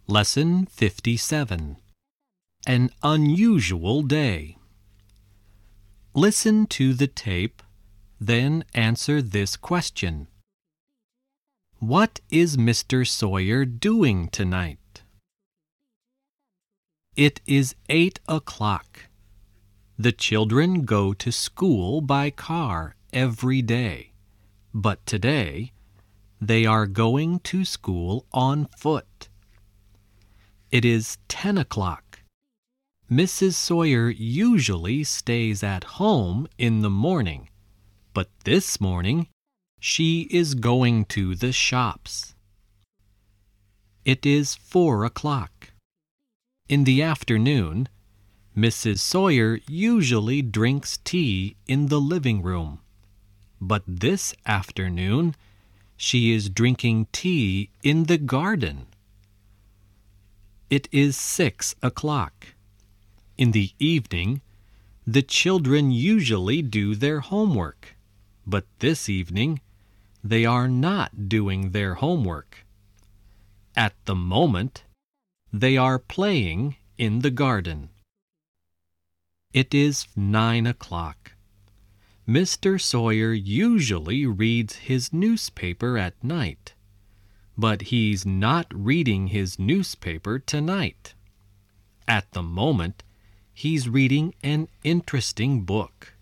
Lesson 57. An unusual day. Listen to the tape, then answer this question. What is Mr. Sawyer doing tonight? It is 8 o'clock. The children go to school by car every day, but today they are going to school on foot. It is 10 o'clock. Mrs. Sawyer usually stays at home in the morning, but this morning she is going to the shops. It is 4 o'clock. In the afternoon, Mrs. Sawyer usually drinks tea in the living room, but this afternoon she is drinking tea in the garden. It is 6 o'clock. In the evening, the children usually do their homework, but this evening they are not doing their homework. At the moment, they are playing in the garden. It is 9 o'clock. Mr. Sawyer usually reads his newspaper at night, but he's not reading his newspaper tonight. At the moment, he's reading an interesting book.